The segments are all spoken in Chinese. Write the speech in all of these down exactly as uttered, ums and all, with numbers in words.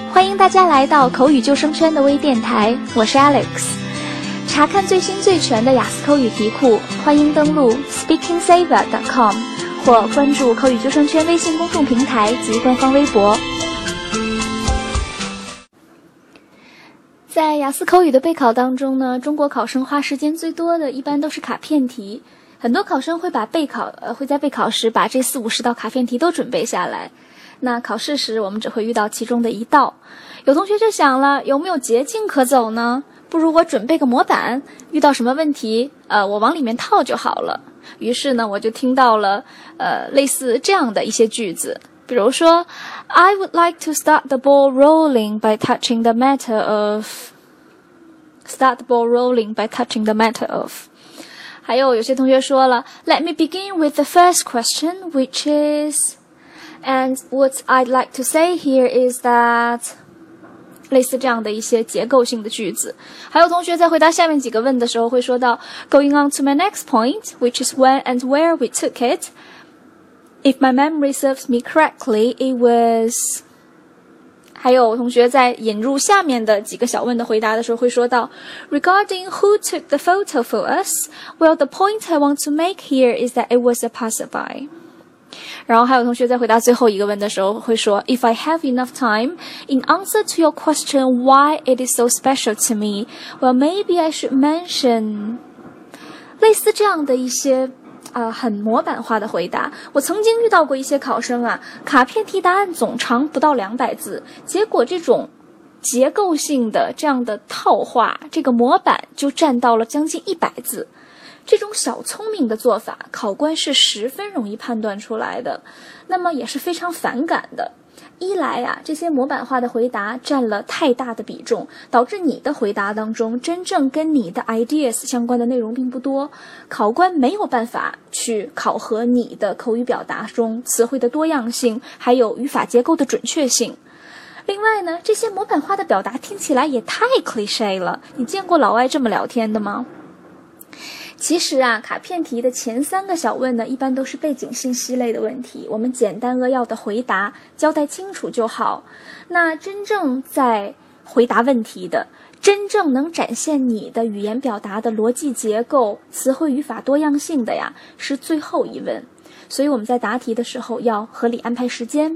欢迎大家来到口语救生圈的微电台，我是 Alex。查看最新最全的雅思口语题库，欢迎登录 speaking saver dot com 或关注口语救生圈微信公众平台及官方微博。在雅思口语的备考当中呢，中国考生花时间最多的一般都是卡片题。很多考生会把备考呃会在备考时把这四五十道卡片题都准备下来。那考试时我们只会遇到其中的一道。有同学就想了，有没有捷径可走呢？不如我准备个模板，遇到什么问题呃我往里面套就好了。于是呢我就听到了呃类似这样的一些句子，比如说 I would like to start the ball rolling by touching the matter of start the ball rolling by touching the matter of。 还有有些同学说了 Let me begin with the first question, which is and what I'd like to say here is that 类似这样的一些结构性的句子。还有同学在回答下面几个问的时候会说到 Going on to my next point, which is when and where we took it. If my memory serves me correctly, it was... 还有同学在引入下面的几个小问的回答的时候会说到 Regarding who took the photo for us, well, the point I want to make here is that it was a passerby. 然后还有同学在回答最后一个问的时候会说 If I have enough time, in answer to your question why it is so special to me, well, maybe I should mention 类似这样的一些呃，很模板化的回答。我曾经遇到过一些考生啊，卡片题答案总长不到两百字，结果这种结构性的这样的套话，这个模板就占到了将近一百字。这种小聪明的做法，考官是十分容易判断出来的，那么也是非常反感的。一来啊，这些模板化的回答占了太大的比重，导致你的回答当中真正跟你的 ideas 相关的内容并不多，考官没有办法去考核你的口语表达中词汇的多样性，还有语法结构的准确性。另外呢，这些模板化的表达听起来也太 cliché 了，你见过老外这么聊天的吗？其实啊，卡片题的前三个小问呢，一般都是背景信息类的问题，我们简单扼要的回答，交代清楚就好。那真正在回答问题的，真正能展现你的语言表达的逻辑结构、词汇语法多样性的呀，是最后一问。所以我们在答题的时候要合理安排时间。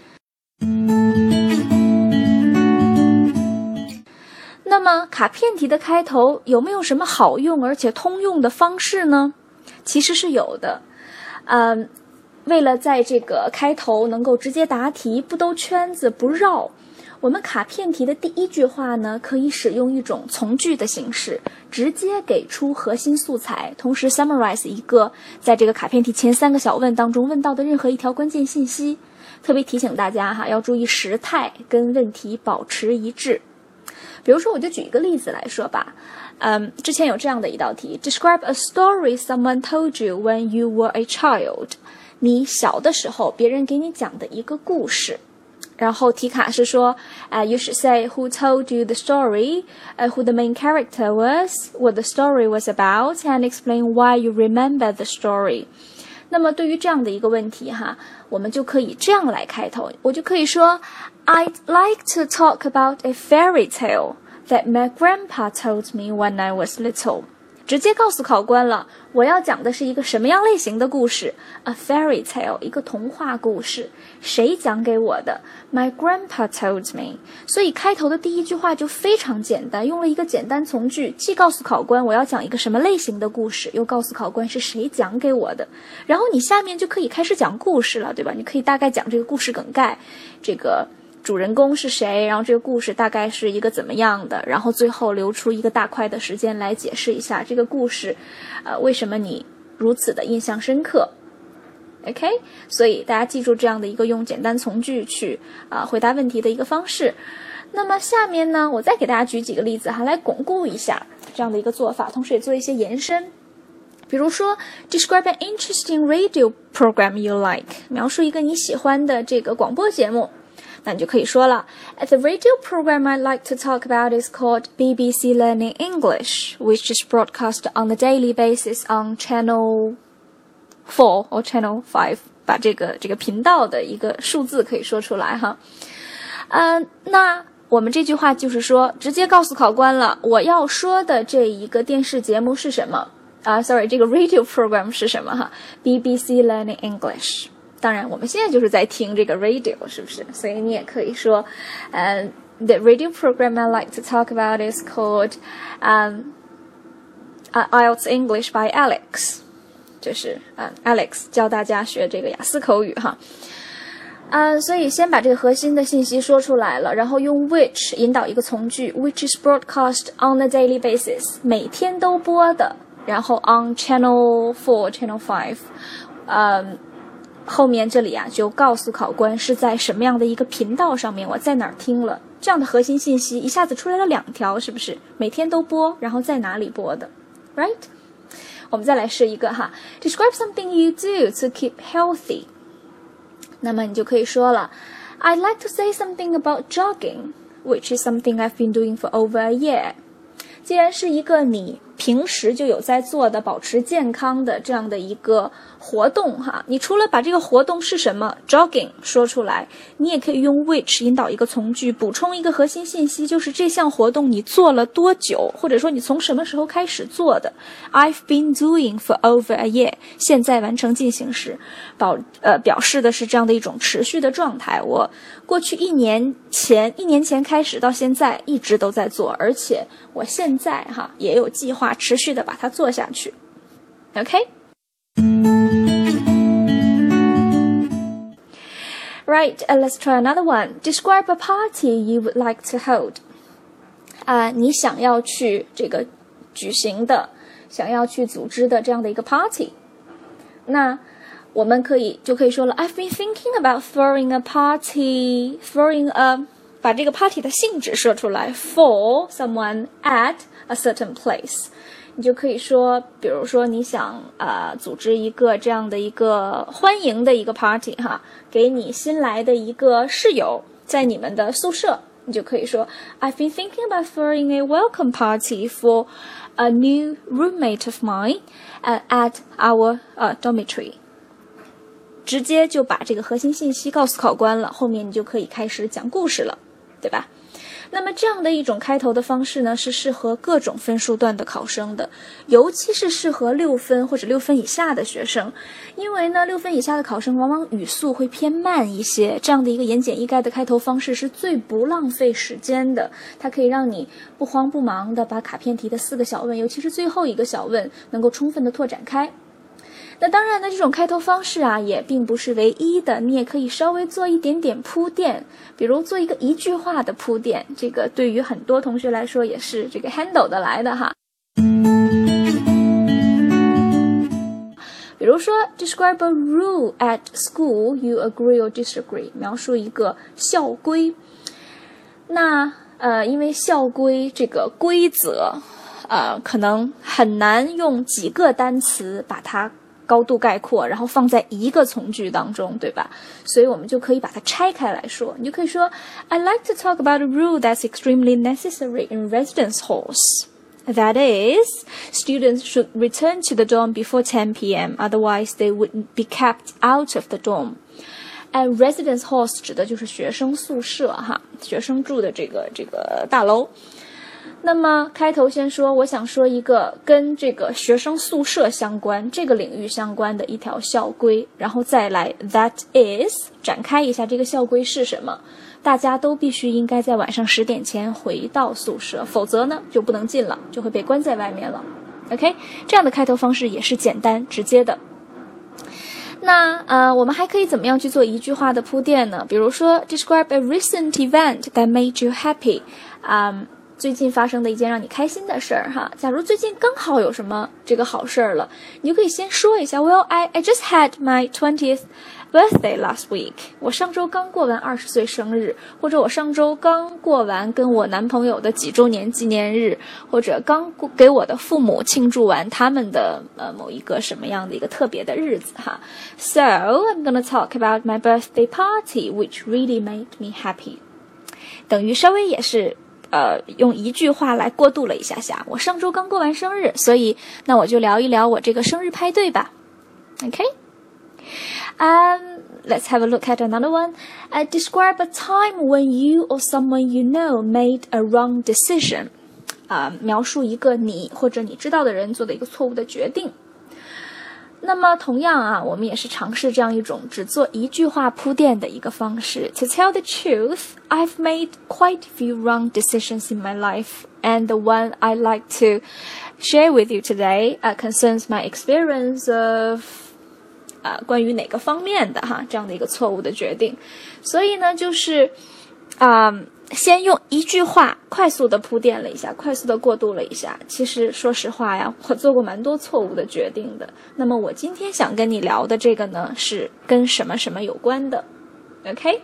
那么卡片题的开头有没有什么好用而且通用的方式呢？其实是有的。嗯，为了在这个开头能够直接答题，不兜圈子不绕，我们卡片题的第一句话呢，可以使用一种从句的形式，直接给出核心素材，同时 summarize 一个在这个卡片题前三个小问当中问到的任何一条关键信息。特别提醒大家哈，要注意时态跟问题保持一致。比如说我就举一个例子来说吧，嗯，之前有这样的一道题 Describe a story someone told you when you were a child。 你小的时候别人给你讲的一个故事，然后题卡是说、uh, You should say who told you the story, uh, who the main character was, what the story was about, and explain why you remember the story。 那么对于这样的一个问题哈，我们就可以这样来开头，我就可以说I'd like to talk about a fairy tale that my grandpa told me when I was little。 直接告诉考官了，我要讲的是一个什么样类型的故事， A fairy tale， 一个童话故事。谁讲给我的？ My grandpa told me。 所以开头的第一句话就非常简单，用了一个简单从句，既告诉考官我要讲一个什么类型的故事，又告诉考官是谁讲给我的。然后你下面就可以开始讲故事了，对吧？你可以大概讲这个故事梗概，这个主人公是谁，然后这个故事大概是一个怎么样的，然后最后留出一个大块的时间来解释一下这个故事呃，为什么你如此的印象深刻。 OK， 所以大家记住这样的一个用简单从句去、呃、回答问题的一个方式。那么下面呢，我再给大家举几个例子哈，来巩固一下这样的一个做法，同时也做一些延伸。比如说 Describe an interesting radio program you like， 描述一个你喜欢的这个广播节目。那你就可以说了 The radio program I'd like to talk about is called B B C Learning English, which is broadcast on a daily basis on Channel four or Channel five， 把这个这个频道的一个数字可以说出来哈。 嗯、呃，那我们这句话就是说，直接告诉考官了，我要说的这一个电视节目是什么啊、uh, ？Sorry， 这个 radio program 是什么哈 ？B B C Learning English。当然，我们现在就是在听这个 radio， 是不是？所以你也可以说，呃、uh, ，the radio program I like to talk about is called um uh, I E L T S English by Alex， 就是啊、uh, ，Alex 教大家学这个雅思口语哈。啊、uh, ，所以先把这个核心的信息说出来了，然后用 which 引导一个从句 ，which is broadcast on a daily basis， 每天都播的，然后 on channel four、channel five， 嗯。后面这里啊，就告诉考官是在什么样的一个频道上面，我在哪儿听了，这样的核心信息一下子出来了两条，是不是？每天都播，然后在哪里播的 ，right？ 我们再来试一个哈 ，describe something you do to keep healthy。那么你就可以说了 ，I'd like to say something about jogging, which is something I've been doing for over a year。既然是一个你平时就有在做的保持健康的这样的一个活动哈，你除了把这个活动是什么 jogging 说出来，你也可以用 which 引导一个从句，补充一个核心信息，就是这项活动你做了多久，或者说你从什么时候开始做的。I've been doing for over a year， 现在完成进行时，保呃表示的是这样的一种持续的状态。我过去一年前一年前开始到现在一直都在做，而且我现在哈也有计划持续的把它做下去。OK。Right, uh, let's try another one. Describe a party you would like to hold. 啊、uh, 你想要去这个举行的，想要去组织的这样的一个 party。那我们可以就可以说了 I've been thinking about throwing a party, throwing a 把这个 party 的性质说出来 for someone at a certain place。你就可以说，比如说你想呃组织一个这样的一个欢迎的一个 party 哈，给你新来的一个室友在你们的宿舍，你就可以说 I've been thinking about throwing a welcome party for a new roommate of mine uh, at our uh, dormitory。直接就把这个核心信息告诉考官了，后面你就可以开始讲故事了，对吧？那么这样的一种开头的方式呢，是适合各种分数段的考生的，尤其是适合六分或者六分以下的学生，因为呢，六分以下的考生往往语速会偏慢一些，这样的一个言简意赅的开头方式是最不浪费时间的，它可以让你不慌不忙的把卡片题的四个小问，尤其是最后一个小问，能够充分的拓展开。那当然呢，这种开头方式啊，也并不是唯一的，你也可以稍微做一点点铺垫，比如做一个一句话的铺垫，这个对于很多同学来说也是这个 handle 的来的哈。比如说 describe a rule at school you agree or disagree， 描述一个校规。那呃，因为校规这个规则呃，可能很难用几个单词把它高度概括，然后放在一个从句当中，对吧？所以我们就可以把它拆开来说。你就可以说 I like to talk about a rule that's extremely necessary in residence halls. That is, students should return to the dorm before ten p m, otherwise they would be kept out of the dorm. And residence halls 指的就是学生宿舍哈，学生住的这个这个大楼。那么开头先说，我想说一个跟这个学生宿舍相关、这个领域相关的一条校规，然后再来 that is 展开一下这个校规是什么。大家都必须应该在晚上十点前回到宿舍，否则呢就不能进了，就会被关在外面了。OK， 这样的开头方式也是简单直接的。那呃，我们还可以怎么样去做一句话的铺垫呢？比如说 describe a recent event that made you happy， 嗯、um,最近发生的一件让你开心的事儿哈，假如最近刚好有什么这个好事儿了，你就可以先说一下 Well, I, I just had my twentieth birthday last week. 我上周刚过完二十岁生日，或者我上周刚过完跟我男朋友的几周年纪念日，或者刚给我的父母庆祝完他们的呃某一个什么样的一个特别的日子哈。So, I'm gonna talk about my birthday party, which really made me happy. 等于稍微也是呃，用一句话来过渡了一下下。我上周刚过完生日，所以那我就聊一聊我这个生日派对吧。OK， Um, let's have a look at another one. Uh, describe a time when you or someone you know made a wrong decision. 啊、uh, 描述一个你或者你知道的人做的一个错误的决定。那么同样啊，我们也是尝试这样一种只做一句话铺垫的一个方式。To tell the truth, I've made quite a few wrong decisions in my life, and the one I'd like to share with you today uh, concerns my experience of 啊、uh, 关于哪个方面的哈这样的一个错误的决定。所以呢，就是啊。Uh, 先用一句话快速的铺垫了一下，快速的过渡了一下。其实说实话呀，我做过蛮多错误的决定的。那么我今天想跟你聊的这个呢，是跟什么什么有关的 OK。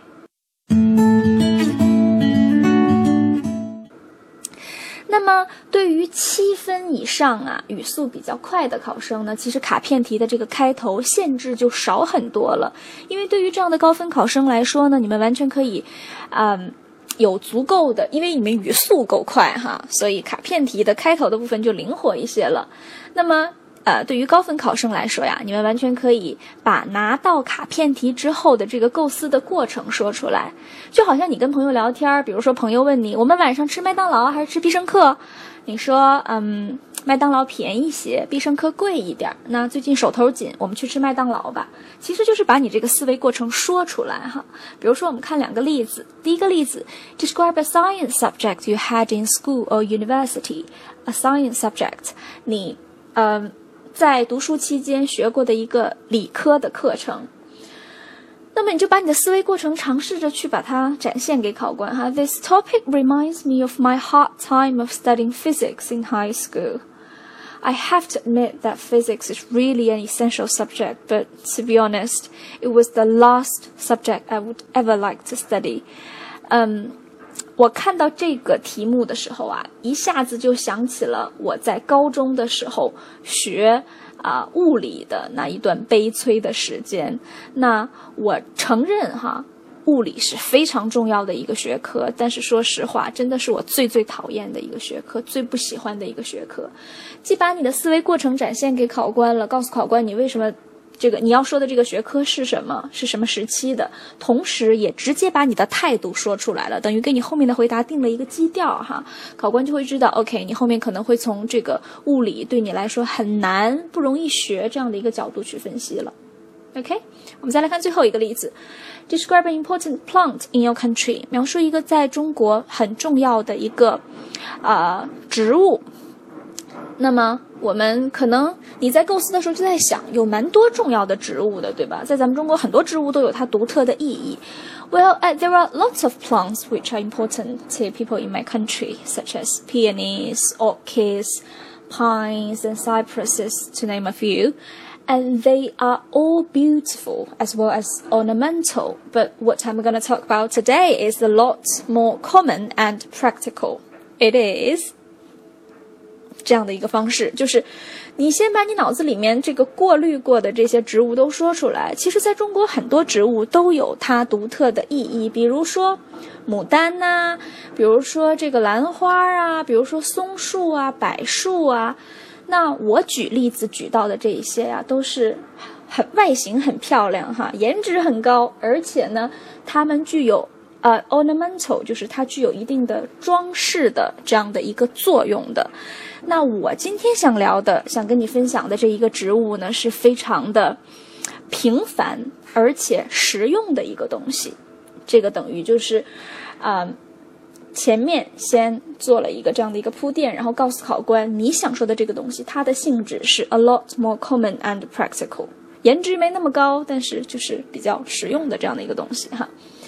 那么对于七分以上啊语速比较快的考生呢，其实卡片题的这个开头限制就少很多了。因为对于这样的高分考生来说呢，你们完全可以嗯有足够的，因为你们语速够快哈，所以卡片题的开头的部分就灵活一些了。那么呃，对于高分考生来说呀，你们完全可以把拿到卡片题之后的这个构思的过程说出来。就好像你跟朋友聊天，比如说朋友问你，我们晚上吃麦当劳还是吃必胜客？你说嗯麦当劳便宜些，必胜客贵一点，那最近手头紧，我们去吃麦当劳吧。其实就是把你这个思维过程说出来哈。比如说我们看两个例子，第一个例子 Describe a science subject you had in school or university. A science subject 你呃在读书期间学过的一个理科的课程。那么你就把你的思维过程尝试着去把它展现给考官哈。This topic reminds me of my hard time of studying physics in high school.I have to admit that physics is really an essential subject, but to be honest, it was the last subject I would ever like to study. 嗯，我看到这个题目的时候啊，一下子就想起了我在高中的时候学啊、呃、物理的那一段悲催的时间。那我承认哈。物理是非常重要的一个学科，但是说实话，真的是我最最讨厌的一个学科，最不喜欢的一个学科。既把你的思维过程展现给考官了，告诉考官你为什么这个你要说的这个学科是什么，是什么时期的，同时也直接把你的态度说出来了，等于给你后面的回答定了一个基调哈。考官就会知道 OK 你后面可能会从这个物理对你来说很难不容易学这样的一个角度去分析了。 OK， 我们再来看最后一个例子。Describe an important plant in your country. 描述一个在中国很重要的一个呃植物。那么我们可能你在构思的时候就在想，有蛮多重要的植物的，对吧？在咱们中国很多植物都有它独特的意义。Well, uh, there are lots of plants which are important to people in my country, such as peonies, orchids, pines, and cypresses, to name a few.And they are all beautiful as well as ornamental. But what I'm going to talk about today is a lot more common and practical. It is 这样的一个方式，就是你先把你脑子里面这个过滤过的这些植物都说出来。其实在中国很多植物都有它独特的意义，比如说牡丹呐、啊，比如说这个兰花啊，比如说松树啊、柏树啊。那我举例子举到的这一些呀、啊，都是很外形很漂亮哈，颜值很高，而且呢，它们具有呃 ornamental， 就是它具有一定的装饰的这样的一个作用的。那我今天想聊的，想跟你分享的这一个植物呢，是非常的平凡而且实用的一个东西。这个等于就是啊。呃前面先做了一个这样的一个铺垫，然后告诉考官你想说的这个东西它的性质是 a lot more common and practical， 颜值没那么高，但是就是比较实用的这样的一个东西哈。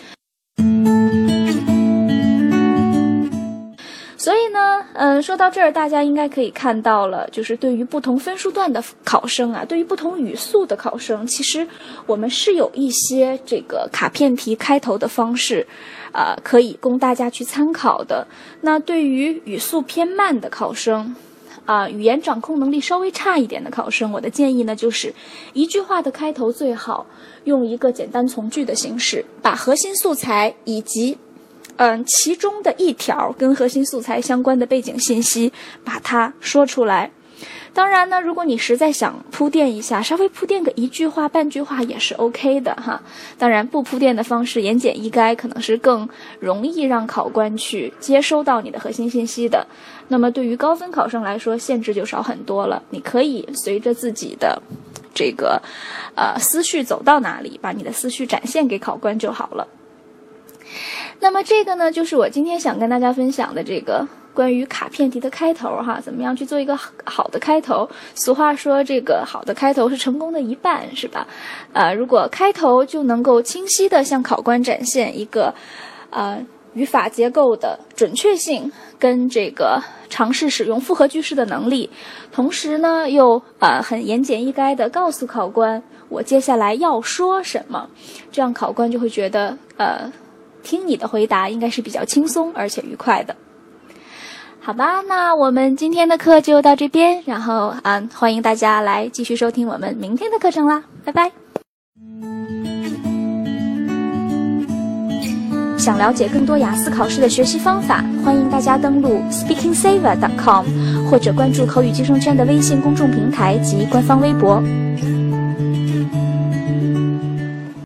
所以呢嗯，说到这儿大家应该可以看到了，就是对于不同分数段的考生啊，对于不同语速的考生，其实我们是有一些这个卡片题开头的方式呃，可以供大家去参考的。那对于语速偏慢的考生啊、呃，语言掌控能力稍微差一点的考生，我的建议呢就是一句话的开头最好用一个简单从句的形式，把核心素材以及嗯其中的一条跟核心素材相关的背景信息把它说出来。 当然呢，如果你实在想铺垫一下，稍微铺垫个一句话半句话也是 OK 的哈。当然不铺垫的方式言简意赅可能是更容易让考官去接收到你的核心信息的。那么对于高分考生来说，限制就少很多了，你可以随着自己的这个呃思绪走到哪里，把你的思绪展现给考官就好了。那么这个呢，就是我今天想跟大家分享的这个关于卡片题的开头哈，怎么样去做一个好的开头？俗话说，这个好的开头是成功的一半，是吧？呃，如果开头就能够清晰地向考官展现一个呃语法结构的准确性跟这个尝试使用复合句式的能力，同时呢又呃很言简意赅地告诉考官我接下来要说什么，这样考官就会觉得呃听你的回答应该是比较轻松而且愉快的。好吧，那我们今天的课就到这边，然后嗯，欢迎大家来继续收听我们明天的课程啦，拜拜。想了解更多雅思考试的学习方法，欢迎大家登录 speaking saver dot com 或者关注口语计生圈的微信公众平台及官方微博。